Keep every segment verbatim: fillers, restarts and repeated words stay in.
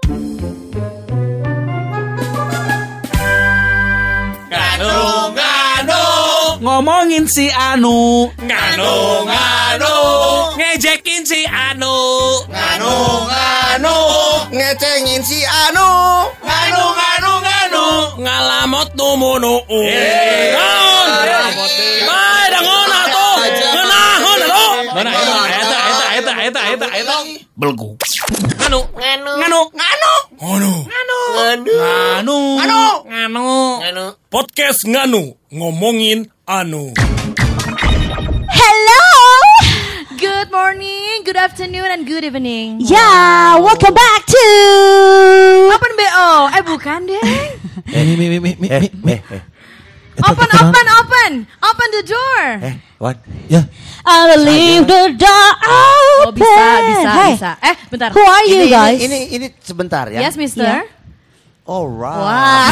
Ngomongin si Anu, Nganu nganu, ngejekin si Anu, nganu nganu, ngecengin si Anu, nganu nganu nganu, ngalamot numunu. Naon? Bae dangon atuh. Ngeunahun atuh. Mana eta eta eta eta eta eta eta belgu. Nganu nganu, nganu nganu, nganu nganu, nganu nganu, nganu nganu. podcast Nganu ngomongin Anu. Hello. Good morning, good afternoon, and good evening. Yeah, welcome back to Open B O. Eh bukan deh. Eh, mi, mi, mi, mi, mi, mi. Open, open, open. Open the door. Eh, Wan. Ya. I leave the door Oh open. bisa, bisa, Hey, bisa. Eh bentar. who are you Ini, guys? ini, ini, ini sebentar ya. Yes, Mister. Yeah. Alright. Wah.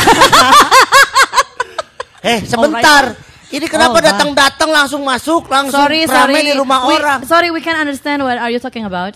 Eh, sebentar. Ini kenapa Alright. datang-datang langsung masuk, langsung Sorry, ramai sorry. di rumah We- orang. Sorry, we can't understand what are you talking about.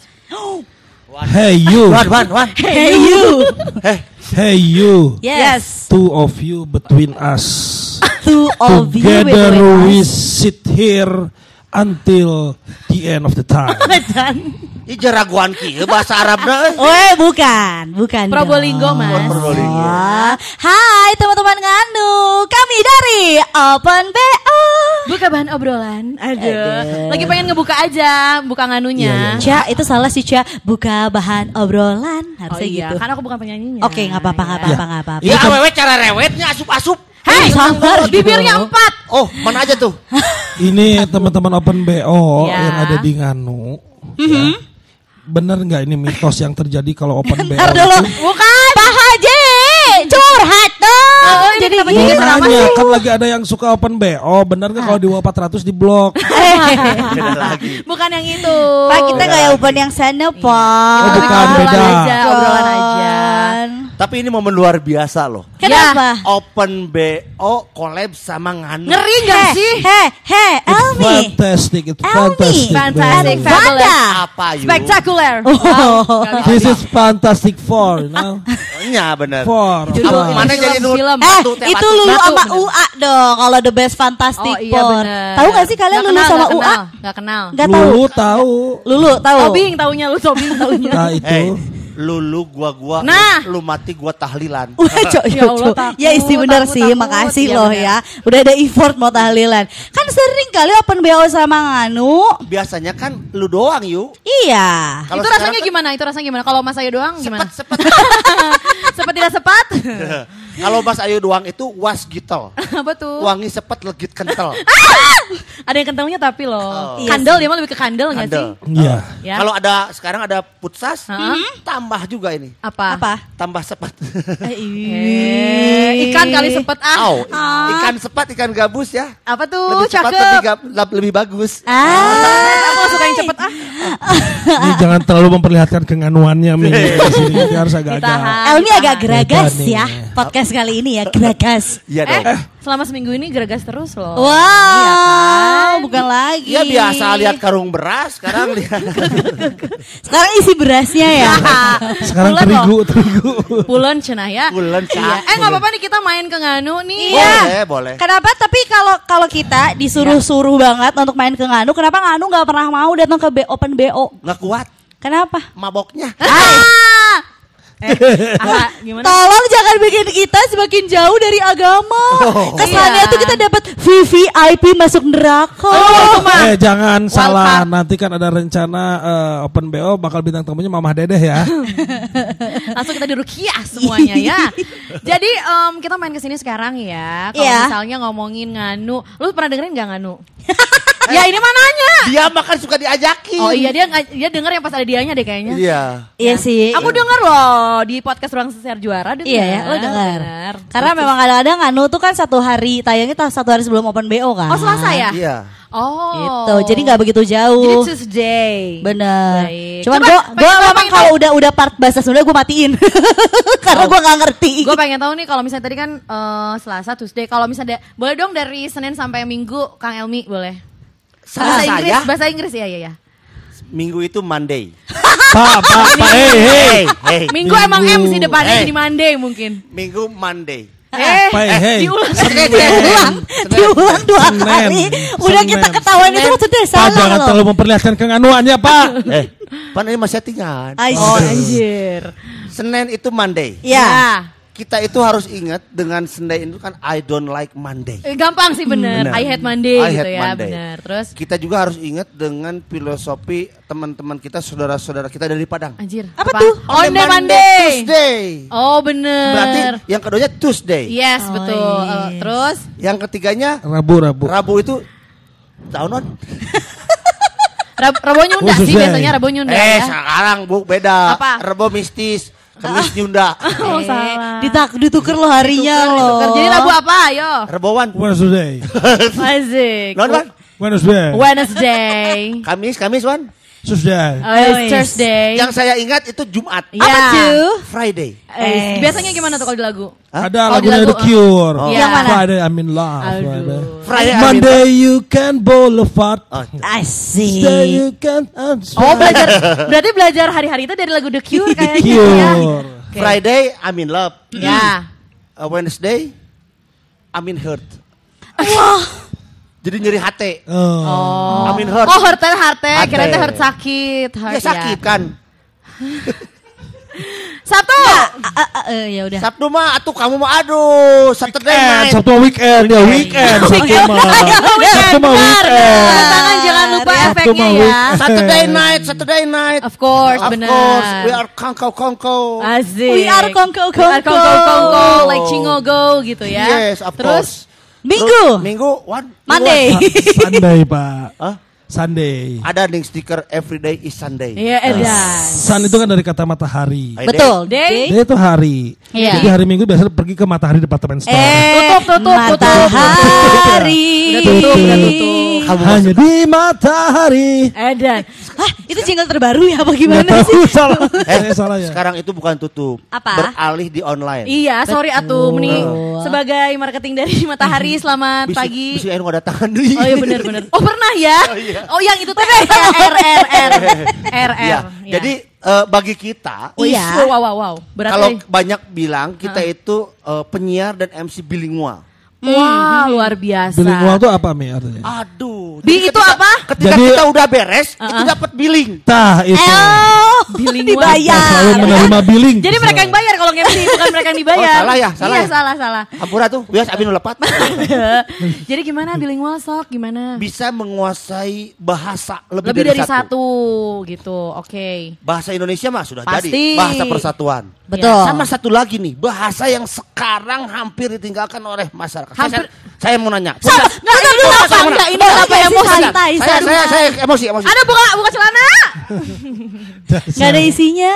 Hey you. Wan, Wan, Wan. Hey you. Eh, Hey you. Yes. Two of you between us. Two of you Together between we us. sit here until the end of the time. ini jeraguan kieu bahasa Arabna. Oh, eh, bukan, bukan. Probolinggo, dong. Mas. Probolinggo. Oh. Hai teman-teman Nganu, kami dari Open B O. Buka bahan obrolan. Aduh. Aduh. Lagi pengen ngebuka aja, buka nganunya. Cia, itu salah sih Cia. Buka bahan obrolan Oh harusnya iya, gitu. kan aku bukan penyanyinya. Oke, nggak apa-apa, nggak apa-apa, nggak apa-apa. Ya, awewe cara rewetnya asup-asup. Hei, sabar bibirnya dong. empat. Oh, mana aja tuh? Ini teman-teman Open B O Ya. yang ada di Nganu. Ya. Bener nggak ini mitos yang terjadi kalau Open B O? Ntar dulu. itu? Bukan. Pak Haji, curhat dong. Oh, ini Jadi kenapa gini. jadi Mau ceramah nanya, sih? kan lagi ada yang suka Open B O. Bener nggak kalau di bawah empat ratus di blok? Beda lagi. Bukan yang itu. Pak, kita nggak yang open yang sana, Pak. Oh, Kita bukan, obrolan beda. aja, obrolan aja. Tapi ini momen luar biasa loh. Kenapa? Open B O collab sama Nganu. Ngeri nggak sih? Heh, heh, It's Elmi. fantastic, it's Elmi. fantastic. Fantastic, man. fabulous. Wanda. Apa yuk? Spectacular. Oh. Wow. This is fantastic four, you know? Iya bener. Four. Itu four. dulu, Mana Film, jadi nur? film. Eh, Batu, teh itu batu. Lulu Batu, sama bener. U A dong. Kalau The Best Fantastic Oh iya Four. bener. Tahu gak sih kalian Nggak Lulu kenal, sama nggak U A? kenal, Nggak kenal. Gak tahu. Lulu tahu. Lulu tahu. Tobing taunya lu, Tobing taunya. Nah itu. Hey, lulu gua gua, Nah. lu mati gua tahlilan. Wah, cok, Ya cok, Allah, cok. takut, Ya isi bener takut, sih, takut. makasih Iya, loh bener. ya. Udah ada effort mau tahlilan. Kan sering kali Open B O sama Nganu. Biasanya kan lu doang yuk. Iya. Kalau Itu sekarang rasanya kan gimana? Itu rasanya gimana? Kalau Mas Ayu doang gimana? Sepet sepet. Sepet tidak sepat? Kalau Mas Ayu doang itu was gitel. Apa tuh? Wangi sepet legit kental. Ada yang kentalnya tapi loh. Oh. Iya Kandel dia mah lebih ke kandel nggak sih? Kandel. Iya. Ya. Kalau ada sekarang ada putsas, Hah? tambah juga ini. Apa? Apa? Tambah sepet. Eh, ikan kali sepet ah. Au, ikan sepet, ikan gabus ya. Apa tuh? Lebih cepat, Cakep. lebih, gab- lab- lebih bagus. Ah. Aku suka yang cepet ah. Ini jangan terlalu memperlihatkan kenganuannya Mi. Di sini ini harus agak-agak. Ditahan. Elmi agak geragas Beda nih. ya. Podcast kali ini ya, geragas. Iya Eh, dong. selama seminggu ini geragas terus loh. Wow, Iya kan? bukan lagi. Iya biasa lihat karung beras, sekarang lihat. Sekarang isi berasnya ya. Sekarang Bulan terigu, loh. terigu. Pulen cenah ya. Bulan Iya. Cak. Eh nggak apa-apa nih kita main ke Nganu nih. Iya. Boleh, boleh. Kenapa? Tapi kalau kalau kita disuruh-suruh banget untuk main ke Nganu, kenapa Nganu nggak pernah mau datang ke B- Open B O? Nggak kuat Kenapa? maboknya. Ah, Eh, ah, gimana? tolong jangan bikin kita semakin jauh dari agama. Kesannya Iya. tuh kita dapat V V I P masuk neraka. Oh, mah. Eh jangan salah, Wildcard. nanti kan ada rencana eh, Open B O bakal bintang tamunya Mamah Dedeh ya. Langsung kita dirukiah semuanya ya. Jadi em, kita main ke sini sekarang ya. Kalau Iya. misalnya ngomongin Nganu, lu pernah dengerin nggak Nganu? Ya ini mananya. Dia makan suka diajakin. Oh iya dia nggak- dia denger yang pas ada dianya deh kayaknya. Iya. Iya sih. Aku denger loh di podcast Ruang Sesiar Juara denger. Iya ya, lo dengar. Denger. Karena memang kadang-kadang Nganu tuh kan satu hari tayangnya tuh satu hari sebelum Open B O kan. Oh Selasa ya? Iya. Oh. Gitu. Jadi nggak begitu Jadi jauh. Tuesday. Bener. Baik. Cuman Coba, gue pengen gue tahu, memang pengen kalau tahu. udah udah part bahasa Sunda gue matiin. Karena gue nggak ngerti. Gue pengen tahu nih kalau misalnya tadi kan eh, Selasa, Tuesday. Kalau misalnya boleh dong dari Senin sampai Minggu, Kang Elmi boleh. Bahasa Salah Inggris, saya bahasa Inggris ya ya ya. Minggu itu Monday. Pak, Pak, Pak, hey, hey. hey. Minggu emang M sih depannya Hey. di Monday mungkin. Minggu Monday. Eh, Pak, hey. diulang. Diulang, diulang dua Senin. kali. Udah Senin. kita ketahuan itu maksudnya Pak, salah jangan loh. terlalu memperlihatkan kenganuannya, Pak. Eh, Pan ini masih settingan. Ay, Oh anjir. Senin itu Monday. Ya. Kita itu harus ingat dengan Sunday itu kan I don't like Monday. Eh, Gampang sih bener. Bener. I hate Monday I gitu hate ya, Monday. bener. Terus Kita juga harus ingat dengan filosofi teman-teman kita, saudara-saudara kita dari Padang. anjir. Apa tuh? On the Monday, Monday. Tuesday. Oh bener. Berarti yang keduanya Tuesday. Yes Oh, betul. yes. Eh, terus Yang ketiganya Rabu, Rabu. Rabu itu tahunan. Rab Rabo Nyunda Khusus sih deh. biasanya Rabo Nyunda Eh ya. sekarang Bu beda. Apa? Rebo mistis, Kemis Nyunda. Oh salah. Ditak, ditukar lo harinya loh. Ditukar. Jadi Rabu apa? Ayo. Rebowan. Wednesday. Asik. Non Wan? Wednesday. Wednesday. Kamis, Kamis Wan. Tuesday. Oh, yes. Thursday. Yang saya ingat itu Jumat. Iya. Apa tuh? Friday. Eh, biasanya gimana tuh kalau di lagu? Hah? Ada Oh, di lagunya lagu, The Cure. Oh. Yang mana? Friday I'm in love. Aduh. Friday. Friday Monday you can boulevard. Oh, Tuesday you Asik. can Oh belajar, berarti belajar hari-hari itu dari lagu The Cure The kayaknya Cure. ya. Oke. Friday I'm in love. Ya. Uh, Wednesday I'm in hurt. Wah. Jadi nyeri hati. Oh. Oh. I'm in hurt. Oh hurt hurt Hurt. kira teh hurt sakit. Hurt, Ya sakit kan. Sabtu. Ah, ah, ah, eh, ya udah. Sabtu mah atuh kamu mah aduh Saturday Eh, night. Sabtu weekend ya weekend. Sabtu mah. Sabtu mah Benar. weekend. Tanda tangan jangan lupa Sabtu efeknya mah ya. weekend. Saturday night, Saturday night. Of course, Of benar. course, we are kongko kongko. Asik. We are kongko, We are kongko. kongko kongko like Cingogo gitu ya. Yes, of Terus course. Minggu. Terus, Minggu, one. Monday. Sunday, Pak. Hah? Sunday. Ada nih stiker everyday is Sunday. Iya edan. Sun itu kan dari kata matahari. Friday. Betul. Day. Dia itu hari. Iya. Jadi hari Minggu biasanya pergi ke matahari departemen store. Eh, Tutup, tutup, tutup. matahari. Udah tutup, udah tutup. Kamu Hanya di matahari. Edan. Hah, itu jingle terbaru ya apa Nggak gimana tahu sih? salah. Eh, Saya salah ya. sekarang itu bukan tutup. Apa? Beralih di online. Iya, sorry atuh mending Betul. sebagai marketing dari Matahari selamat Bisi- pagi. Bisi aing ada tangan deui. Oh iya benar benar. Oh pernah ya? Oh yang itu teh R R R R Iya. R. Jadi eh, bagi kita Iya. Wow wow wow wow. Berarti kalau banyak bilang kita itu eh, penyiar dan M C bilingual. wah luar biasa. Bilingual itu apa Mi artinya? Aduh. Bi jadi itu ketika- apa? Ketika Jadi- kita udah beres, itu dapat billing. Tah itu. Oh, Bilingual. Kita selalu dibayar. menerima billing. Jadi mereka yang bayar kalau nge-M C bukan mereka yang dibayar. Oh, salah ya, salah Iya ya. salah salah. Hampura tuh, bias abis nu lepat. Jadi gimana bilingual sok gimana? Bisa menguasai bahasa lebih, Lebih dari satu gitu. Oke. Bahasa Indonesia mah sudah Pasti. jadi bahasa persatuan. Betul. Sama satu lagi nih, bahasa yang sekarang hampir ditinggalkan oleh masyarakat. Hampir- Saya, saya mau nanya. Sama, Punca- nggak dulu Punca, apa saya mau enggak nanya. ini kenapa Santai, emosi? santai, Saya, saya, santai. saya emosi, emosi. Ada buka buka celana. Nggak ada isinya.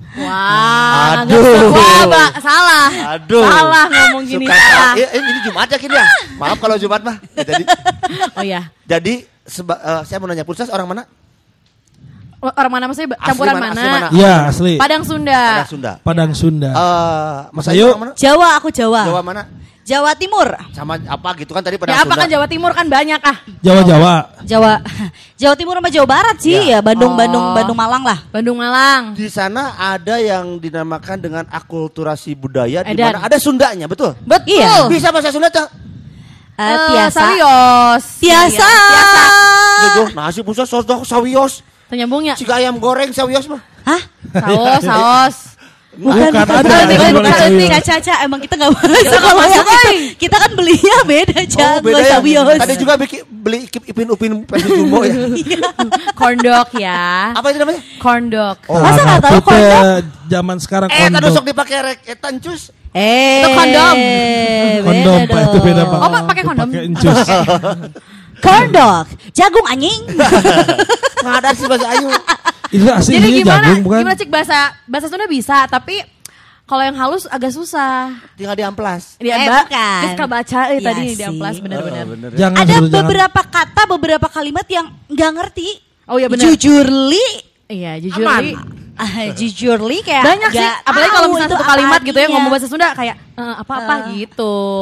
Wah, Aduh. nggak- wah, Mbak, salah. Aduh. Salah ngomong gini Suka- salah. Eh, eh, ini Jumat ya kini ya. Maaf kalau Jumat mah. Ya, jadi, Oh iya. jadi seba- eh, saya mau nanya Pulsas orang mana? Orang mana maksudnya Asli campuran mana, mana? asli mana? Iya asli. Padang Sunda. Padang Sunda. Padang Sunda. Eh, Mas Mas Ayu Ayu. orang mana? Jawa, aku Jawa. Jawa mana? Jawa Timur. Sama apa gitu kan tadi Padang Ya apa Sunda. kan Jawa Timur kan banyak ah. Jawa-Jawa. Jawa. Jawa Timur sama Jawa Barat sih Ya. ya, Bandung, Oh. Bandung, Bandung Malang lah. Bandung Malang. Di sana ada yang dinamakan dengan akulturasi budaya di Edan. mana ada Sundanya, betul? Betul. Iya. Bisa bahasa Sunda tuh? Eh, Eh, tiasa. Sawios. Tiasa. Tiasa. Jodoh, nasi Pulsas sosok sawios. Ternyambungnya. Jika ayam goreng sawios mah. Hah? Saos, saos. Bukan, ada. bukan, Ada bukan, goreng bukan. sawios. Caca, Caca, emang kita nggak masuk nggak kalau masuk, yang itu. oi. Kita kan belinya beda, Caca. Oh, beda ya. Sawios. Tadi juga bikin beli ipin ipin upin versi jumbo ya. Corn dog ya. Apa itu namanya? Corn dog. Oh. Masa nggak tahu Itu teh kondom? zaman sekarang Eh, tadi kondom. sok dipakai rek etan cus. Eh, Itu kondom. Kondom beda Pak itu beda Pak. dong. Oh, Pak, pakai kondom? Pakai encus. Corn dog, jagung anjing. Nggak ada sih bahasa Ayu. Itu asli Jadi ini gimana? jagung bukan? Gimana cik bahasa bahasa Sunda bisa, tapi kalau yang halus agak susah. Tinggal di amplas. Dia Eh, Mbak, bukan. dia suka baca eh, Iya tadi di sih. amplas benar-benar. Jangan Ada suruh jangan. beberapa kata, beberapa kalimat yang nggak ngerti. Oh iya benar. Jujurli, Iya, jujur Aman. Li. ah, jujurli kayak Banyak sih, nggak apalagi kalau tahu misalnya itu satu apa kalimat gitu ya artinya. ngomong bahasa Sunda kayak eh, apa-apa Eh. gitu.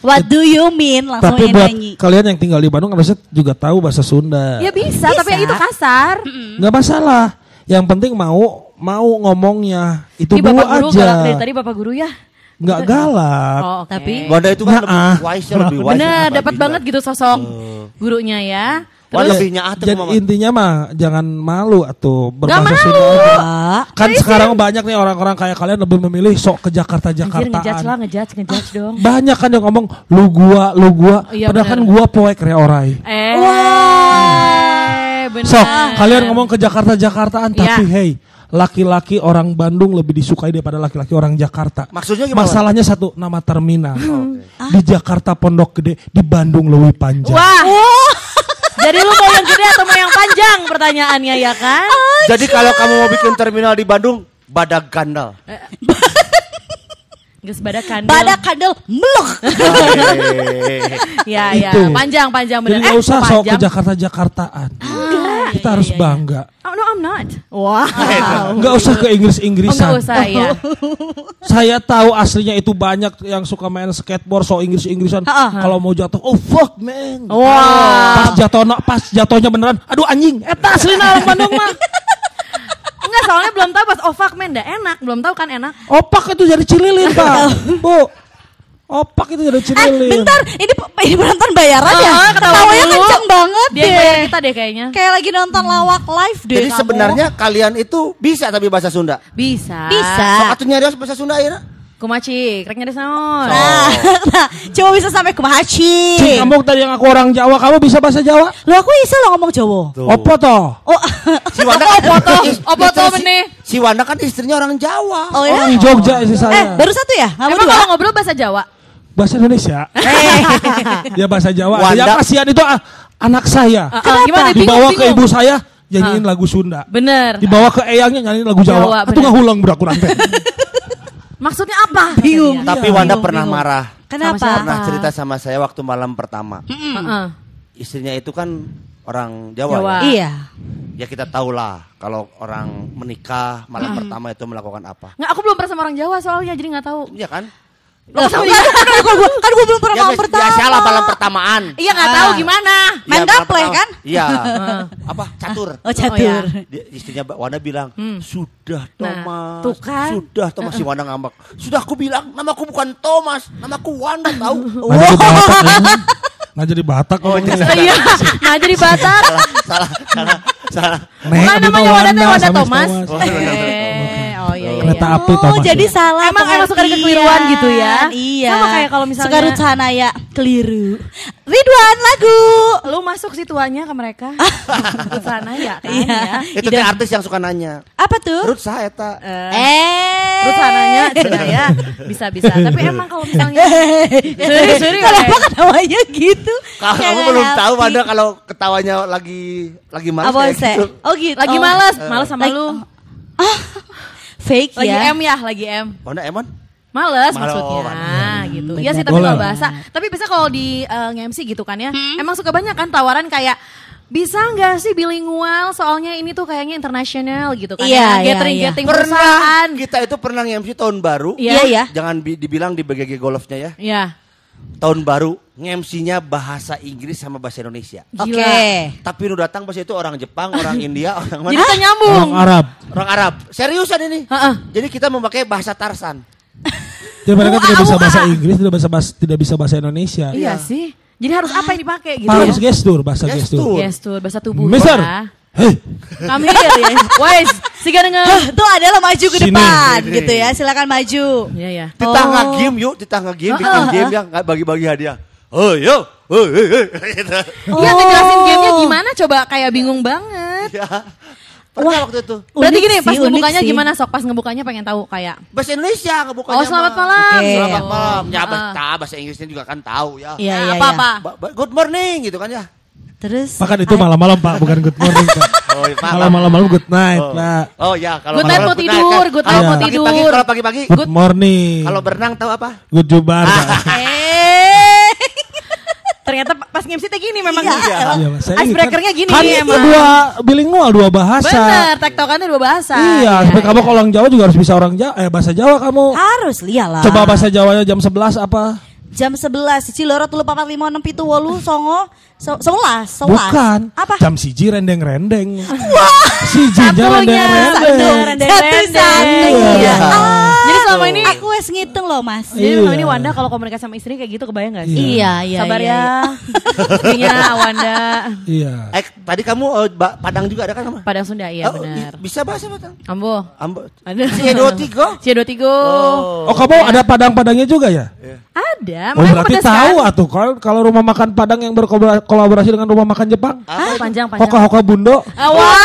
What do you mean? Langsung Tapi buat nyanyi. kalian yang tinggal di Bandung harusnya juga tahu bahasa Sunda. Ya bisa, Bisa. tapi itu kasar. Nggak masalah. Yang penting mau mau ngomongnya itu Ini dulu Bapak Guru aja. galak dari tadi Bapak Guru ya. Nggak galak. Oh, oke. Tapi Wanda itu kan Nah, lebih ah. wise lebih wise. Bener, lebih dapat bijak. banget gitu sosok gurunya ya. Wah, Terus lebih nyaat tuh Jadi Mama. intinya mah jangan malu atau berbahasa malu. Sunda aja. Pak, Kan sekarang banyak nih orang-orang kayak kalian lebih memilih sok ke anjir ngejudge lah, Jakarta-Jakartaan. ngejudge, ngejudge dong. Banyak kan yang ngomong lu gua, lu gua. Iya, Padahal kan bener. gua poek reorai. Eh, bener. Sok kalian ngomong ke Jakarta-Jakartaan tapi Iya. hey, laki-laki orang Bandung lebih disukai daripada laki-laki orang Jakarta. Maksudnya gimana? Masalahnya satu, nama terminal. Oke. Di Jakarta Pondok Gede, di Bandung lebih panjang. Wah. Jadi lu mau yang gede atau mau yang panjang pertanyaannya ya kan? Jadi kalau kamu mau bikin terminal di Bandung, badak gandal. Geus badak kandel. badak kandel meluk. Ya ya, Itu. panjang panjang Jadi bener. nggak usah sok ke panjang. Jakarta-Jakartaan. Kita harus iya, iya. bangga. Oh no, I'm not. Wow. Nggak usah ke Oh, Inggris-Inggrisan. enggak usah ya. Saya tahu aslinya itu banyak yang suka main skateboard so Inggris-Inggrisan. Kalau mau jatuh, oh fuck man. Wah. Pas jatuh, pas jatuhnya beneran, aduh anjing. Eta aslina orang Bandung mah. Enggak, soalnya belum tahu pas oh fuck man, dah enak. Belum tahu kan enak. Opak itu jadi cililin pak, bu. Opak itu jadi Eh, cililin. bentar, ini ini penonton bayaran ya? Oh, ketawa Ketawanya dulu. kenceng banget Dia deh. bayar kita deh kayaknya. Kayak lagi nonton lawak live deh. Jadi kamu. sebenarnya kalian itu bisa tapi bahasa Sunda. Bisa. Bisa. Sok atuh nyarios bahasa Sunda ayeuna. Kumaci, krek nyari naon. Nah, nah, coba bisa sampai kumaha Cing, Ci. kamu tadi yang aku orang Jawa, kamu bisa bahasa Jawa? Lu aku bisa lo ngomong Jawa. Opo toh? Oh, Si Wanda kan Opo toh? is- Opo istri toh si- benih? Si Wanda kan istrinya orang Jawa. oh ya. Orang Jogja istri Eh, saya. baru satu ya? Kamu Emang dua? kalau ngobrol bahasa Jawa? Bahasa Indonesia. Ya bahasa Jawa. Wanda- Yang kasihan itu ah, anak saya. Ah, ah, gimana? Bingung, Dibawa ke bingung. ibu saya, nyanyiin lagu Sunda. Bener. Dibawa ke eyangnya nyanyiin lagu Jawa, Jawa. Itu bener. nggak hulang budak kurang teh. Maksudnya apa? Bingung. Tapi Iya. Wanda Bingung, pernah bingung. marah. Kenapa? Sama siapa? Pernah cerita sama saya waktu malam pertama. Heeh. Istrinya itu kan orang Jawa, Jawa. ya. Iya. Ya kita tahulah kalau orang menikah malam pertama itu melakukan apa. Nggak, aku belum pernah sama orang Jawa soalnya jadi nggak tahu. Iya kan? Loh, kan, kan, gua, kan gua belum pernah Ya, malam pertama. biasa lah malam pertamaan. Iya nggak tahu gimana. Main Iya, malam gaple pertama. kan? Iya. Apa? Catur. Oh, catur. iya. Dia, istrinya Mbak Wanda bilang, sudah Thomas, Nah, tuh kan. sudah Thomas. Si Wanda ngambek, sudah aku bilang, namaku bukan Thomas, namaku Wanda tahu. Nggak jadi Batak. anjing. Nggak jadi Batak. Oh, ngomongnya. Iya. Nah jadi Batak. salah, salah, salah. Nek, Bukan Dino namanya Wanda teh Wanda sama Thomas. Thomas. Eh, oh iya iya. Kereta iya. api Oh, Thomas. jadi ya. salah. Emang- emang suka ada pengertian. kekeliruan gitu ya? Iya. Sama kayak kalau misalnya- Suka Ruth Hanaya keliru. Ridwan lagu. Lu masuk sih tuanya ke mereka. Ke sana ya kan. Iya. Ya. Itu teh artis yang suka nanya, Apa tuh? Ruth saya eta. Eh. Terus sananya cina ya. Bisa bisa. Tapi emang kalau misalnya seri seri Kenapa ketawanya gitu? Kalau Kayak kamu nggak belum happy. tahu Wanda kalau ketawanya lagi lagi malas Apa kayak sih? gitu. Oh gitu. lagi Oh. malas, malas sama Lagi- lu. Fake Lagi ya. M ya, lagi M. Wanda emang? Males Males, maksudnya males. gitu. Benar. Iya sih tapi Boleh. kalau bahasa. Tapi bisa kalau di uh, nge-M C gitu kan ya. Emang suka banyak kan tawaran kayak bisa nggak sih bilingual soalnya ini tuh kayaknya internasional gitu kan. Iya, ya. iya, Gathering iya. gathering Pernah perusahaan. kita itu pernah nge-M C tahun baru. Iya ya. Jangan bi- dibilang di B G G Golfnya ya. Iya. Tahun baru nge-M C-nya bahasa Inggris sama bahasa Indonesia. Oke. Gila. Tapi nu datang pas itu orang Jepang, orang India, orang Jadi mana? kita nyambung. Orang Arab. Orang Arab. Seriusan ini. Heeh. Jadi kita memakai bahasa Tarsan. Jadi mereka Wah, tidak bisa wah. bahasa Inggris, tidak bisa bahasa, tidak bisa bahasa Indonesia. Iya sih. Jadi harus apa yang dipakai gitu Harus ya? gestur, bahasa Gestur. gestur. Gestur, bahasa tubuh. Mister, ya. hei, Kami here ya. Wes, siga dengan. Tuh adalah maju ke Sini. depan gitu ya. Silakan maju. Iya ya. Kita Oh. nge-game yuk, kita nge-game, bikin game yang nggak bagi-bagi hadiah. Oh yo, oh, oh, oh. Gitu. Iya ngejelasin gamenya gimana coba kayak bingung banget. Ya. Pernah waktu itu. Berarti Unik gini sih, pas unik ngebukanya sih. gimana sok pas ngebukanya pengen tahu kayak. Bahasa Indonesia ngebukanya. Oh selamat mah. malam. Oke. Selamat gitu. malam. Ya Ah. bahasa, bahasa Inggrisnya juga kan tahu ya. Iya, Nah, iya, apa iya. apa. Ba- ba- Good morning gitu kan ya. Terus. Bahkan itu malam-malam Pak, bukan good morning Pak. Oh, iya, Kalau malam-malam good night Oh. Pak. Oh ya, kalau Good night malam mau good tidur, kan. good Kalau night mau pagi-pagi, tidur. Kalau pagi-pagi, Good morning. kalau berenang tahu apa? Good jubar Pak. Eh. Ternyata pas nge-M C teh gini memang. Iya, Iya. Iya, Mas. Saya Icebreakernya gini kan emang. dua bilingual, dua bahasa. Bener, tektokannya dua bahasa. Iya, sampai kamu kalau orang Jawa juga harus bisa orang Jawa, eh bahasa Jawa kamu. Harus lialah. Coba bahasa Jawanya jam sebelas apa? jam sebelas Ciloro telu papat lima enam pitu wolu songo so, sebelas sebelas. Bukan. Apa? Jam siji rendeng-rendeng. Wah. Sijinya rendeng-rendeng. Rendeng-rendeng. Iya. Jadi selama ini aku wes ngitung loh Mas. Jadi selama ini Iya. Wanda kalau komunikasi sama istrinya kayak gitu kebayang gak sih? Iya iya. Sabar iya, ya. Istrinya Wanda. Iya. Eh, tadi kamu oh, ba- Padang juga ada kan nama? Padang Sunda iya Oh, benar. i- bisa bahasa Padang? Ambo. Ambo. Ada. Cie dua tiga. Cie dua tiga. Oh kamu ada Padang-Padangnya juga ya? Ada. Oh makanya berarti pedas kan? tahu atuh kalau kalau rumah makan Padang yang berkolaborasi dengan rumah makan Jepang. Ah, panjang panjang. Hoka-hoka bundo. Ah, wow.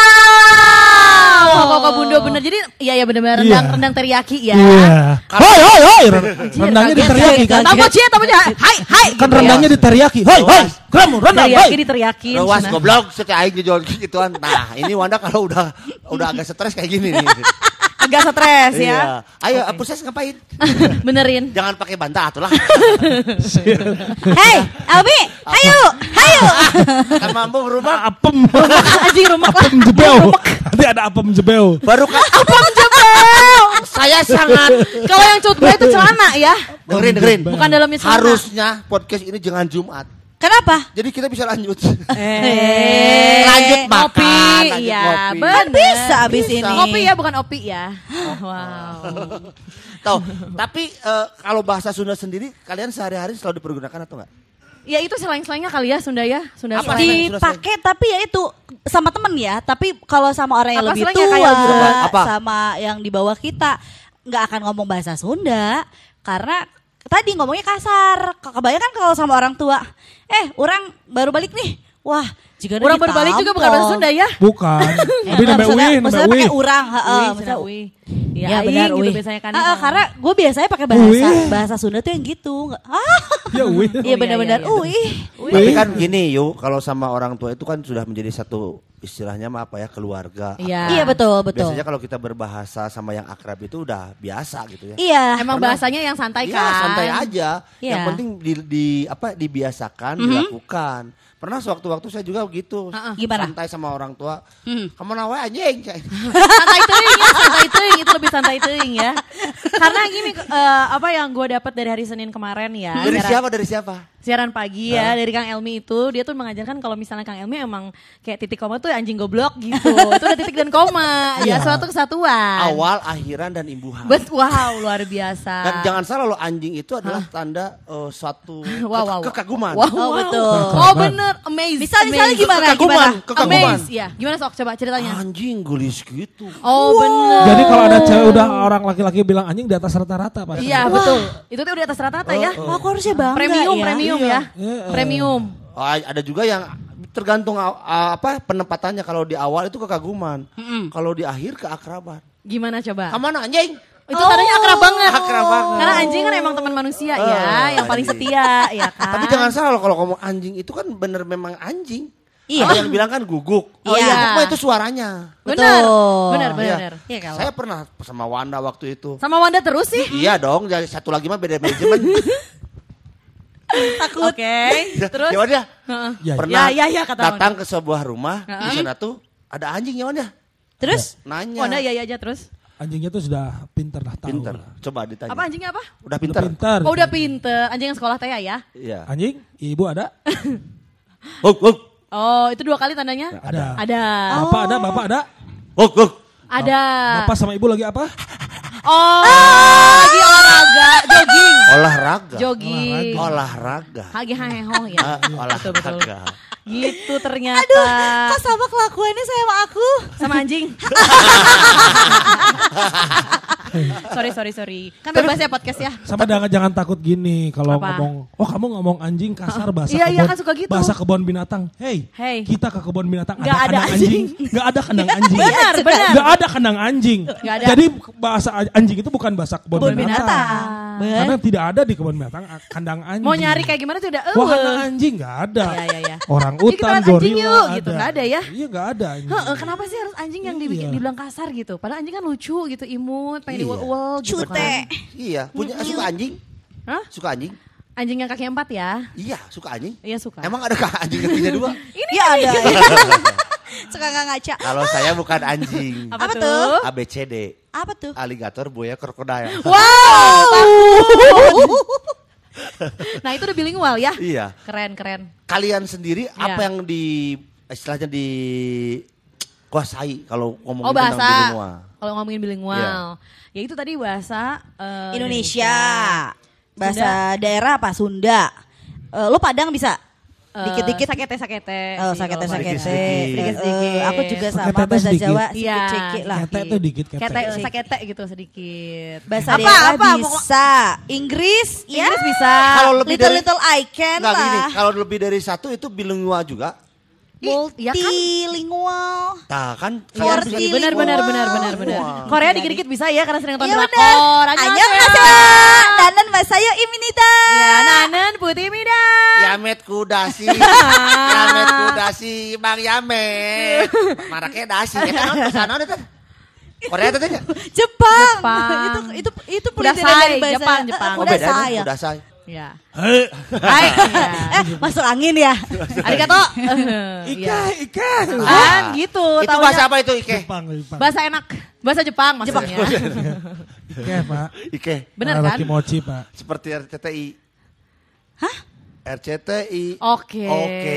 Kok bundo bener. Jadi iya ya benar-benar rendang Iya. rendang teriyaki ya. Iya. Hoi hoi hoi. Rendangnya kaget, diteriyaki kan? Tamu cie, tamu cie. Hai, hai. Kan rendangnya diteriyaki. Hoi hoi. Kamu rendang Teriyaki hoi. diteriyakin. Rawas cenah. goblok setiap aing dijual gituan. Nah, ini Wanda kalau udah udah agak stres kayak gini nih. Agak stres ya. Iya. Ayo, proses ngapain? Benerin. Jangan pakai bantah atuh lah. Hei, Albi, ayo, ayo. Kan mampu berubah. Apem. Anjing rumah Apem jebel. Nanti ada apem jebel. Baru kan Apem jebel. saya sangat Kalau yang cutbel itu celana ya. dengerin dengerin. Bukan dalamnya celana. Harusnya podcast ini jangan Jumat. Kenapa? Jadi kita bisa lanjut. Eh, Lanjut makan, ngopi, lanjut iya, ngopi. bener. Kan bisa abis Bisa. ini. Kopi ya, bukan opi ya. Wow. Tahu, tapi eh, kalau bahasa Sunda sendiri kalian sehari-hari selalu dipergunakan atau enggak? Ya itu selain-selainnya kali ya Sunda ya, Sunda. Apa? selain. Dipakai tapi ya itu sama temen ya. Tapi kalau sama orang yang Apa lebih selangnya tua, kayak gitu, Bang? Apa? sama yang di bawah kita nggak akan ngomong bahasa Sunda karena tadi ngomongnya kasar. Kebanyakan kalau sama orang tua, eh orang baru balik nih. Wah, jika Orang berbalik juga bukan bahasa Sunda ya. Bukan. Tapi namanya maksudnya, wih, maksudnya namanya pakai wih. urang, heeh, Wih, maksudnya Sunda, wih. Ya, Ya, aing benar gitu wih. biasanya kan. Heeh, karena gue biasanya pakai bahasa Wih. bahasa Sunda tuh yang gitu. Nggak- Ah, Ya wih. iya iya, benar-benar. iya, iya. Wih. Tapi kan gini yuk, kalau sama orang tua itu kan sudah menjadi satu istilahnya mah apa ya, keluarga. Iya. Iya betul betul. Biasanya kalau kita berbahasa sama yang akrab itu udah biasa gitu ya. Iya. Emang bahasanya yang santai Iya, kan. santai aja. Iya. Yang penting di, di apa dibiasakan, dilakukan. Pernah sewaktu-waktu saya juga gitu. Gimana? Santai sama orang tua. Hmm. Kamu nawa anjing. Santai teuing ya, santai teuing itu lebih santai teuing ya. Karena gini eh, apa yang gue dapat dari hari Senin kemarin ya. Dari siaran- siapa? Dari siapa? Siaran pagi ya dari Kang Elmi itu, dia tuh mengajarkan kalau misalnya Kang Elmi emang kayak titik koma tuh anjing goblok gitu. Itu udah titik dan koma, ya suatu kesatuan. Awal, akhiran, dan imbuhan. Bet, wow, luar biasa. Dan jangan salah loh, anjing itu adalah tanda eh, suatu Wow, wow, wow. ke- kekaguman. Wow, Oh, wow. betul. Oh bener, amazed. Misal- misalnya amazed. gimana? Kekaguman, Gimana? kekaguman. Amazed, ya. Gimana sok, coba ceritanya. Anjing gelis gitu. Oh bener. Jadi kalau ada cewek udah orang laki-laki bilang anjing di atas rata-rata pasti. Iya betul. Itu tuh udah atas rata-rata ya. Oh, aku harusnya bangga Premium, ya. premium Iya. ya. Iya. Premium. Oh, ada juga yang tergantung uh, apa penempatannya. Kalau di awal itu kekaguman, kalau di akhir keakraban. Gimana coba? Kamu anjing? Itu tandanya akrab banget. Akrab banget. Karena anjing kan emang teman manusia Oh, ya, yang paling anjing. setia ya kan. Tapi jangan salah loh, kalau ngomong anjing itu kan bener memang anjing. Iya. Ada yang bilang kan guguk. Oh, Guguk iya. mah itu suaranya. Benar. Betul. Benar, benar, Iya. benar. Iya kalau. Saya pernah sama Wanda waktu itu. Sama Wanda terus sih. Iya dong, jadi satu lagi mah beda manajemen. Takut. Oke. Terus? Ya Wanda, Heeh. Ya, pernah Ya, ya, ya, kata datang ke sebuah rumah, Heeh. di sana tuh ada anjing ya Wanda. Terus? Nanya. Wanda ya ya aja terus. anjingnya tuh sudah pinter lah tahu. Pinter. Coba ditanya. Apa anjingnya apa? Udah Udah pinter. pinter. Oh udah pinter. Anjing yang sekolah teh ya. Iya. Anjing, ibu ada? Huk, huk, Oh itu dua kali tandanya? Ada. Ada. Bapak ada, bapak ada? huk, huk. Ada. Bapak sama ibu lagi apa? Oh lagi olahraga, jogging. Olahraga. Jogging. Olahraga. Lagi heheho ya. Ah, Betul, betul. olahraga. Gitu ternyata. Aduh, kok sama kelakuannya sama aku? Sama anjing. sorry, sorry, sorry. Kan bebas ya podcast ya. Sama jangan jangan takut gini kalau Apa? ngomong, oh kamu ngomong anjing kasar bahasa Iya, iya, kebun, kan suka gitu. bahasa kebun binatang. Hey, Hey. kita ke kebun binatang Nggak ada kandang anjing. Nggak ada kandang anjing. Benar, benar. Nggak ada kandang anjing. Nggak ada. Jadi bahasa anjing itu bukan bahasa kebun Kebun binatang. binatang. Karena tidak ada di kebun binatang kandang anjing. Mau nyari kayak gimana tuh udah Wah, eueuh. kandang anjing nggak ada. Iya, iya, iya. Orang Yuk, kita utan, lihat anjing gorila yuk, ada. gitu. Nggak ada ya? Iya nggak ada. anjing. Heeh, kenapa sih harus anjing yang dibikin Iya. dibilang kasar gitu? Padahal anjing kan lucu gitu, imut, pengen Iya. diuel-uel gitu Cute. kan. Iya, punya suka anjing? Hah? Suka anjing? Anjing yang kaki empat ya? Iya, suka anjing. Iya suka. Emang ada kah anjing kakinya dua? Iya ada. Suka nggak ngaca. Kalau saya bukan anjing. Apa, Apa tuh? tuh? A B C D. Apa tuh? Aligator, buaya, krokodil. Wow, takut. Nah itu udah bilingual ya. Iya. Keren keren. Kalian sendiri Iya. apa yang di istilahnya di kuasai kalau ngomongin Oh tentang bahasa. bilingual? Kalau ngomongin bilingual. Ya itu tadi bahasa eh, Indonesia. Bahasa daerah apa? Sunda. Eh, lo Padang bisa? Eh, Dikit-dikit. Sakete-sakete. Oh, sih sakete kalau sakete. Sedikit-sedikit. Sedikit-sedikit. Aku juga sama Sakete tuh bahasa sedikit. Jawa Iya. sedikit-sedikit lah. Kete tuh dikit kete. Kete, sakete gitu sedikit. Bahasa Apa, daerah apa? bisa. Inggris, ya. Inggris bisa. Kalau lebih little dari- little I can Enggak gini, lah. kalau lebih dari satu itu bilingual juga. Multi, ya kan? Multilingual. Nah kan Multilingual. kalian Iya, benar benar benar benar benar. Wah. Korea dikit-dikit bisa ya karena sering nonton Iya drakor. benar. Annyeonghaseyo. Annyeonghaseyo. Danan masayo iminida. Ya, Nanen Putih Mida. Yamet kudasi, Yamet kudasi, Bang Yamet. Maraknya dasi, ya kan sana ada tuh. Korea tuh tanya. Jepang. Jepang. itu itu itu Udah pelikiran say, dari bahasa Jepang, Jepang. Oh Udah beda say ya. udah say. Ya. Hei, Hai. Ya. Eh, masuk angin ya. Arigato. Ike, Ya. Ike. Kan gitu. Itu taunya. bahasa apa itu Ike? Jepang, Jepang. Bahasa enak. Bahasa Jepang maksudnya. Ike, Pak. Ike, Benar Arah kan? Kimochi, Pak. seperti R C T I. Hah? R C T I. Oke. Oke.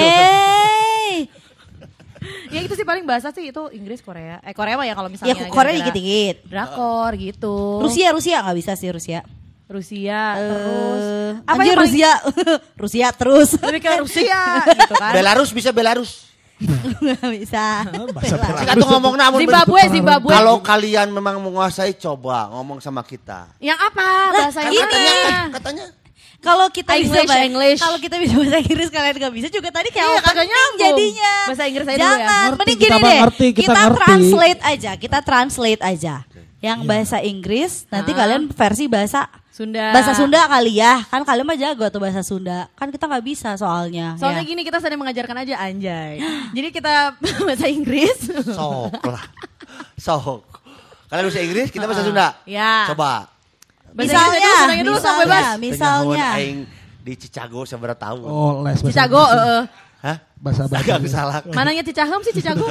Eh. Ya itu sih paling bahasa sih itu Inggris, Korea. Eh Korea mah ya kalau misalnya. Ya Korea gara-gara dikit-dikit. Drakor gitu. Rusia Rusia nggak bisa sih Rusia. Rusia Eh, terus. apa yang ya paling- Rusia? Rusia terus. Lebih ke Rusia gitu kan. Belarus bisa Belarus. Nggak bisa. Bahasa Belarus. Kita tuh ngomong namun Zimbabwe, Zimbabwe. kalau kalian memang menguasai coba ngomong sama kita. Yang apa bahasa Kan ini? katanya katanya Kalau kita bisa English, bahasa English. kalau kita bisa bahasa Inggris kalian nggak bisa juga tadi kayak Iya, apa kagak penting nyambung. jadinya. Bahasa Inggris aja dulu ya. Jangan, Ngerti, mending kita gini mah deh. ngerti, kita kita ngerti. translate aja, kita translate aja. Yang bahasa Inggris nanti Ah. kalian versi bahasa Sunda. bahasa Sunda kali ya. Kan kalian mah jago tuh bahasa Sunda. Kan kita nggak bisa soalnya. Soalnya ya. gini kita sedang mengajarkan aja anjay. Jadi kita bahasa Inggris. sok lah. Sok. Kalian bisa Inggris, kita bahasa Sunda. Ya. Coba. Bahasa Misalnya, Inggris dulu, Sundanya dulu sok misalnya, bebas. misalnya. Tengah aing di Chicago seberapa tahun. Oh, les bahasa Cicago, Inggris. heeh. Hah? Bahasa Agak bahasa. salah. Mananya Cicahem sih Cicago?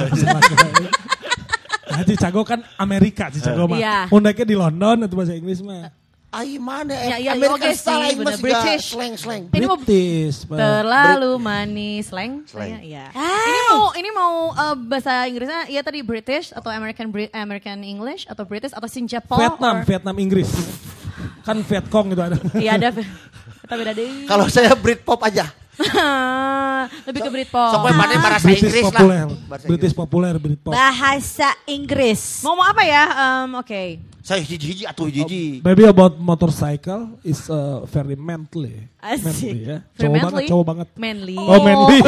Nah, Chicago kan Amerika, Chicago mah. Iya. Undangnya di London itu bahasa Inggris mah. Ai mana Ya, eh ya, American oke style sih, aing bener. mah British. slang-slang. Ini mau British, Pak. terlalu manis, slang. Slang. Saya, ya. Hai. Ini mau ini mau uh, bahasa Inggrisnya ya tadi British atau American Brit American English atau British atau Singapore. Vietnam, or- Vietnam Inggris. Kan Vietcong itu ada. Iya ada. Kita beda deh. Kalau saya Britpop aja. Lebih ke Britpop. Sok mana bahasa British Inggris lah. populer. Bahasa British Inggris. populer, Britpop. Bahasa Inggris. Mau mau apa ya? Um, Oke. Saya hiji-hiji atuh hiji. Maybe about motorcycle is uh, very manly. Asik. Manly ya. Very Cowok manly? banget, cowok banget. Manly. Oh, manly.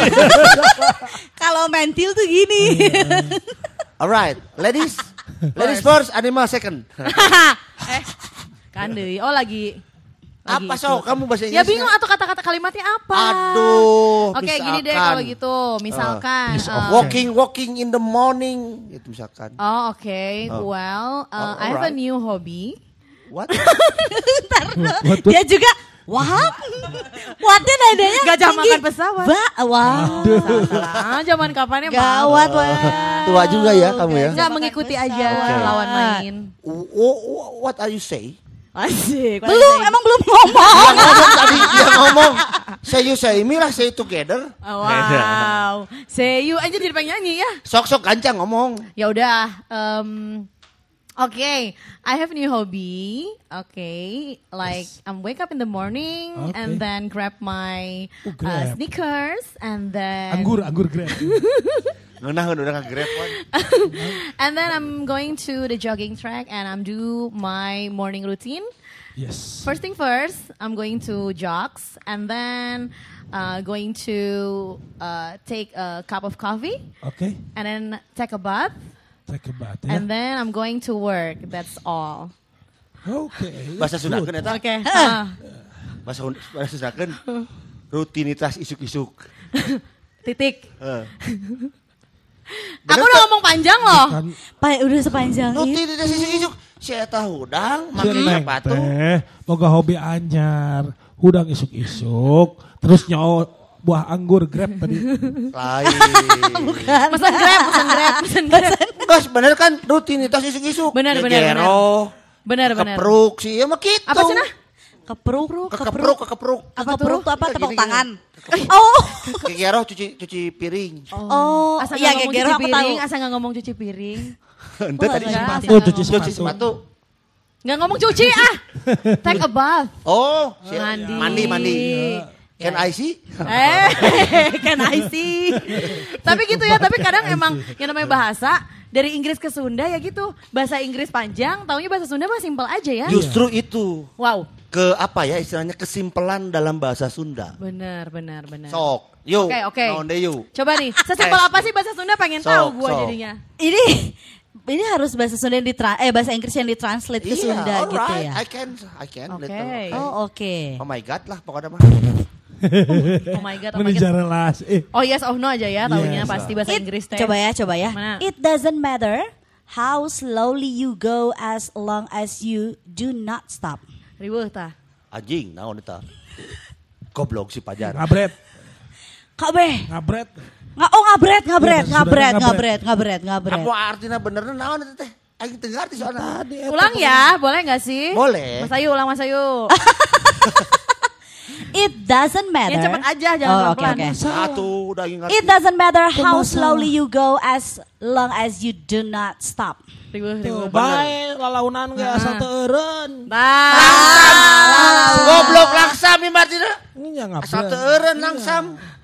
Kalau mentil tuh gini. Alright, ladies. Ladies first, animal second. eh, kan deui. Oh lagi. lagi Apa itu. sok kamu bahasa Ya Inggris? bingung atau kata-kata kalimatnya apa? Aduh, Oke, gini deh misalkan. kalau gitu. Misalkan. piece of uh, Walking, walking in the morning, itu misalkan. Oh, oke. Oh. Well, uh, Oh, I have a alright. new hobby. What? What, what? Dia juga what? Whatnya nadanya Gajah tinggi. makan pesawat. Ba, wah. Ah, zaman kapannya Gawat wah. Tua juga ya kamu ya. Enggak mengikuti aja Oke. lawan main. W- w- what are you say? Asik. Belum, emang belum ngomong. Dia ngomong tadi, dia ngomong. Say you say me lah, say together. Oh, wow. Say you aja jadi pengen nyanyi ya. Sok-sok gancang ngomong. Ya udah. Um, Oke, okay. I have new hobby. Okay, like I'm wake up in the morning Okay. and then grab my Oh, uh, grab. sneakers and then Anggur, anggur grab. Ngeunah udah kagrepon. and then I'm going to the jogging track and I'm do my morning routine. Yes. First thing first, I'm going to jogs and then uh, going to uh, take a cup of coffee Oke, and then take a bath take a bath ya. and then I'm going to work. That's all. Oke. Bahasa Sundakeun eta. Oke. ah. Bahasa bahasa Sundakeun. Rutinitas isuk-isuk. Titik. Heeh. Aku udah ngomong panjang loh. Kan Pa, udah sepanjang itu. Rutinitas isuk-isuk. Si eta hudang make Neng sepatu. teh boga hobi anyar, hudang isuk-isuk, terus nyawa buah anggur grab tadi. Lain. Pesan grab, pesan grab, pesan grab. Gas bener kan rutinitas isuk-isuk. Bener, bener, Gegero, Benar, benar. kepruk sih ya mah gitu. Apa sih nah? Kepruk, Kekepruk, kekepruk. Kepruk tuh apa? Gini, Tepuk gini. tangan. Kekepruk. Oh. Gegero cuci cuci piring. Oh, Asal iya nggak ngomong gegero cuci aku tahu. piring, asal nggak ngomong cuci piring. Ente tadi enggak. sepatu. Oh, cuci Cuci sepatu. sepatu. Nggak ngomong cuci ah. Take a bath. Oh, si- Mandi. mandi, mandi. Can I see? Eh, can I see? Tapi gitu ya, tapi kadang emang yang namanya bahasa dari Inggris ke Sunda ya gitu. Bahasa Inggris panjang, taunya bahasa Sunda mah simpel aja ya. Justru itu. Wow. Ke apa ya istilahnya kesimpelan dalam bahasa Sunda. Benar, benar, benar. Sok, yuk. Oke, oke. Naon deh yuk. Coba nih, sesimpel apa sih bahasa Sunda pengen Sok, tahu gua sok. jadinya. Ini ini harus bahasa Sunda yang ditra eh bahasa Inggris yang ditranslate ke Sunda gitu alright. ya. I can, I can. Oke. little. Oh, oke. Oh my God lah pokoknya mah. Oh my god, oh my Meninja god. relasi. Eh, Oh yes, oh no aja ya, taunya Yes. pasti bahasa It- Inggris teh. Coba ya, coba ya. Mana? It doesn't matter how slowly you go as long as you do not stop. Riweuh tah. Anjing, naon eta? Goblok si Pajar. ngabret, Kak Beh, ngabret. nggak oh ngabret, ngabret, Iya, ngabret, sudah ngabret, ngabret, ngabret. Apa artinya benernya naon eta teh? Aing teu ngarti soalnya. Ulang ya, boleh nggak sih? Boleh. Mas Ayu, ulang Mas Ayu. It doesn't matter. Yang cepet aja, jangan Oh, oke, pelan-pelan. oke. Satu udah ingat. It doesn't matter how Masalah. slowly you go as long as you do not stop. Riweuh, Tuh, riweuh. bae lalaunan ge asal teu eureun. Nah, Goblok langsam ieu artinya. Ini yang ngabret. Asal teu eureun langsam.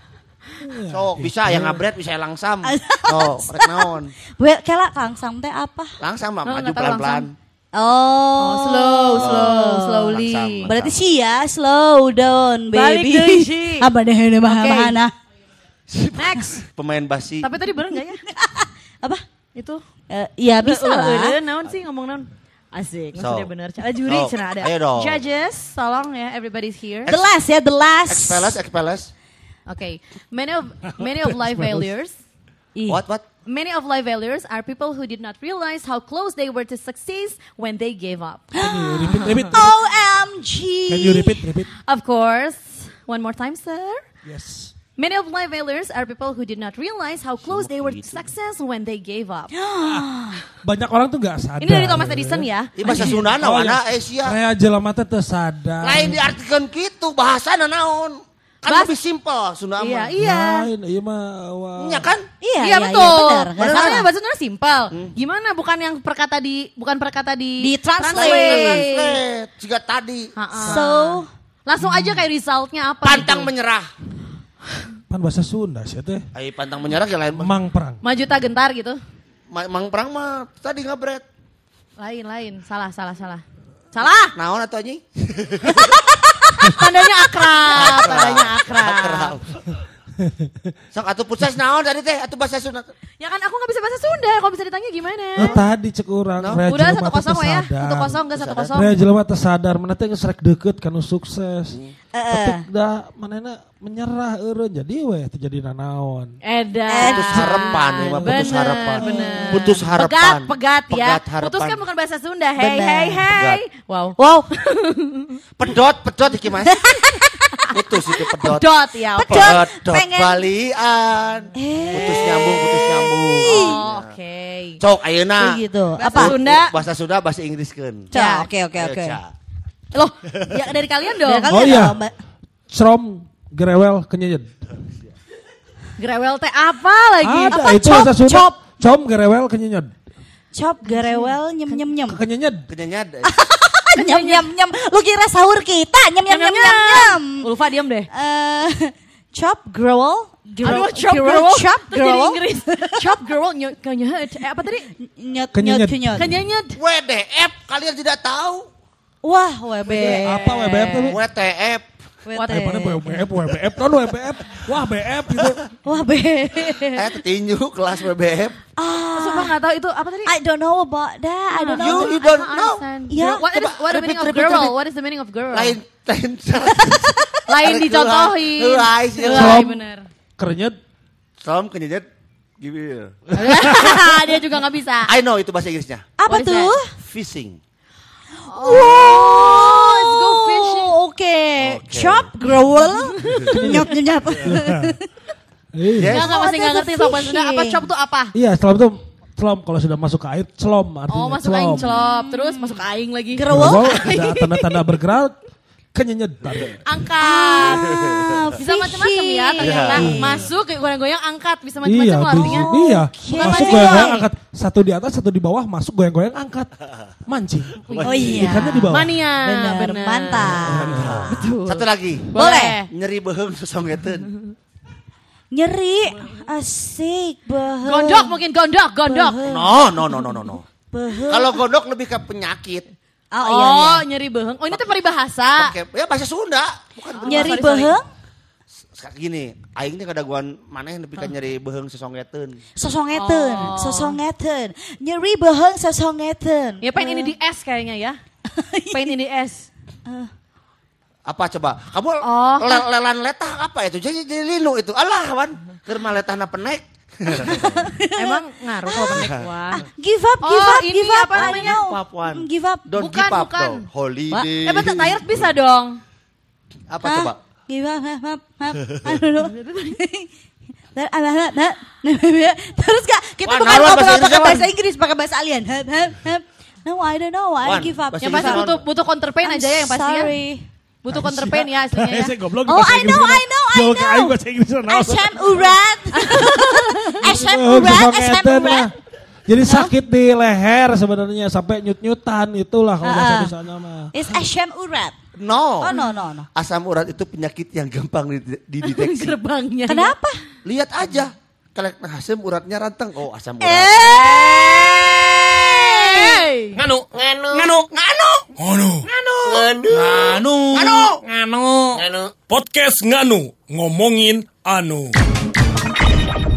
Sok bisa yang ngabret bisa yang langsam. Oh, rek naon? Well, kela langsam teh apa? Langsam mah Oh, maju nggak tahu pelan-pelan. Oh, Oh, slow, slow, slowly. langsam. Berarti sih ya, slow down, Balik baby. deui, Ci. Apa deh ini mah Oke. mana? Next. Pemain basi. Tapi tadi bener nggak ya? Apa? Itu. Eh, ya bisa Ulah, lah. ulah, naon sih ngomong naon? Asik, maksudnya So. bener. Ada juri, So, cenah ada. ayo dong. Judges, tolong ya, everybody's here. The last ya, the last. Expeles, expeles. Okay, many of many of life failures. Ih. What, what? Many of life failures are people who did not realize how close they were to success when they gave up. Can you repeat, repeat, repeat. O M G. Can you repeat, repeat? Of course, one more time, sir. Yes. Many of life failures are people who did not realize how close they were to success when they gave up. Banyak orang tuh gak sadar. Ini dari Thomas Edison ya. Ini bahasa Sunda Oh, wana iya. eh sia. Kayak jelema teh teu sadar. Lain diartikan gitu bahasana naon. Kan Bahas- lebih simpel Sunda Iya, mah. iya. Lain, iya mah. wah. Iya kan? Iya, Iya, betul. benar. Nggak Makanya salah. bahasa Sunda simpel. Gimana bukan yang perkata di bukan perkata di Di translate. Translate. Jika tadi Ha-ha. So, Langsung aja kayak resultnya apa pantang gitu. menyerah. Pan bahasa Sunda sih teh. Ai pantang menyerah ya lain. Mang perang. Maju tak gentar gitu. Ma- Mang perang mah tadi ngabret. Lain, lain. Salah, salah, salah. Salah! Naon atuh anjing? Tandanya akrab, tandanya akrab. Akrab. Sok atuh pusas naon tadi teh atuh bahasa Sunda. Ya kan aku gak bisa bahasa Sunda, kalau bisa ditanya gimana? Oh, tadi cek urang. No. Rea Udah jelema satu teh kosong ya, tersadar. satu kosong enggak satu kosong. Rea jelema teh sadar, mana teh geus rek deukeut kanu sukses. eh, Tapi da manehna menyerah eureun jadi we teu jadi nanaon. Edan. Putus harapan ya, mah, putus Bener, harapan. bener. Putus harapan. Pegat, pegat ya. Pegat harapan. Putus kan bukan bahasa Sunda. Hey, Bener. hey, hey. Wow. wow, Pedot, pedot iki Mas. Putus itu pedot. Dot ya. oke. Pedot. Pedot pengen- balian. Putus nyambung, putus nyambung. Oh, oke. Cok ayeuna. kayak gitu. Bahasa Apa? Sunda. Bahasa Sunda bahasa Inggriskeun. Ca, oke, oke, Ayo, oke. Ca. Loh, ya dari kalian dong. Dari kalian Oh, iya. dong, Mbak. Srom gerewel kenyenyed. Grewel teh apa lagi? Ada Apa? itu Cop, bahasa Sunda. cop. Com gerewel kenyenyed. Chop garewel nyem nyem nyem. Kenyenyed. Kenyanyad. Nyem nyem nyem. Lu kira sahur kita nyem nyem nyem nyem nyem. Ulfa diam deh. Eh, chop growel. Aduh, chop girl. Chop Terus jadi growel. Inggris. Chop girl. Ny- Kenyet. Eh, apa tadi? Nyet Kenyenyet. nyet kenyet. Kenyet. W D F kalian tidak tahu. Wah, W B. Apa W B F tadi? W T F. What Eh, mana W B F, W B F, non W B F. Wah, B F gitu. Wah, B. Eh tinju kelas W B F. Ah, Sumpah nggak tahu itu apa tadi? I don't know about that. I don't know. You- you don't know? Ya. What is Coba, what the repeat, meaning of repeat, girl? repeat. What is the meaning of girl? Lain lain. Lain dicontohin. Helai sih. Helai, bener. Kerenyed. Som kenyanyad. Gimana? Dia juga nggak bisa. I know itu bahasa Inggrisnya. Apa What is tuh? Fishing. Wow, let's go fishing. Oke, Oke. chop growel. Nyap nyap. Iya. Yes. Nggak nggak masih nggak Oh, ngerti that's sobat Sunda. Apa fishing. chop tuh apa? Iya, setelah itu celom kalau sudah masuk ke air, celom artinya. Oh masuk aing celop, terus masuk aing lagi. Growel. Growel, ada tanda-tanda bergerak. kenyenyetan. Angkat. Ah, Bisa macam-macam ya ternyata. Masuk kayak goyang-goyang angkat bisa Iya, macam-macam loh artinya. bisa. Iya. Oke. Masuk goyang-goyang angkat. Satu di atas, satu di bawah, masuk goyang-goyang angkat. Mancing. Oh iya. Ikannya di bawah. Mania. Bener, bener. mantap. Betul. Satu lagi. Boleh. Nyeri beheung sosongeteun. Nyeri, asik, beheng. Gondok mungkin gondok, gondok. No, no, no, no, no, no. Beheng. Kalau gondok lebih ke penyakit. Oh, Oh, iya, iya. nyeri beheng. Oh, ini tuh peribahasa. Pakai ya bahasa Sunda, bukan Nyeri sorry, sorry. beheng, Sekarang gini, aing teh kadaguan maneh lebih ka nyeri beheung sosongeteun. sosongeteun, Oh. sosongeteun. Nyeri beheng, sosongeteun. Ya pengen ini di es kayaknya ya. Pengen ini es. Apa coba? Kamu Oh. le- lelan letah apa itu? Jadi jadi linu itu. Alah, wan. Keur mah letahna penek. Emang ngaruh kalau penek wah. Give up, give Oh, up, ini give up. apa I don't namanya? know. Give up, Wan. Mm, Give up. Don't Bukan, give up bukan. dong. Holiday. Eh, betul, tired bisa dong. Apa Hah? coba? Give up, up, up, up. I don't know. Dan ada ada ada. Terus Kak, kita Wan, bukan naruhan ngobrol bahasa pakai Inggris, bahasa Wan. Inggris, pakai bahasa alien. Hup, hup, hup. No, I don't know. I Wan, give up. bahasa Yang pasti Inggris, butuh butuh counterpain I'm aja ya yang pasti ya. sorry. Butuh counterpain ya aslinya ya. Saya goblok Oh, I know, I know, I Jauh ke aing know. bahasa Inggris. Asam urat. Asam Oh, urat, asam sosongeteun urat. mah. Jadi sakit di leher sebenarnya sampai nyut-nyutan itulah kalau bahasa Ah. Indonesianya mah. It's asam urat. No. Oh, no, no, no. Asam urat itu penyakit yang gampang dide- dideteksi. Gerbangnya. Kenapa? Lihat aja. Kalau asam uratnya rantang. Oh, asam urat. Eh. Hey. Nganu, nganu, nganu, nganu, nganu, nganu, nganu, nganu, nganu, nganu. Podcast nganu ngomongin anu.